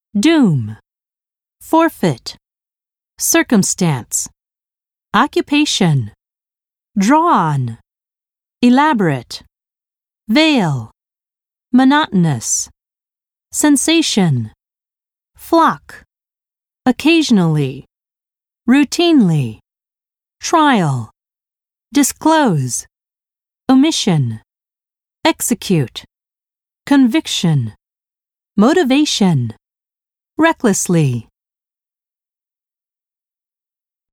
doom, forfeit, circumstance, occupation, drawn, elaborate, veil, monotonous, sensation, flock, occasionally, routinely, trial, disclose, omission, execute, conviction, motivation, recklessly.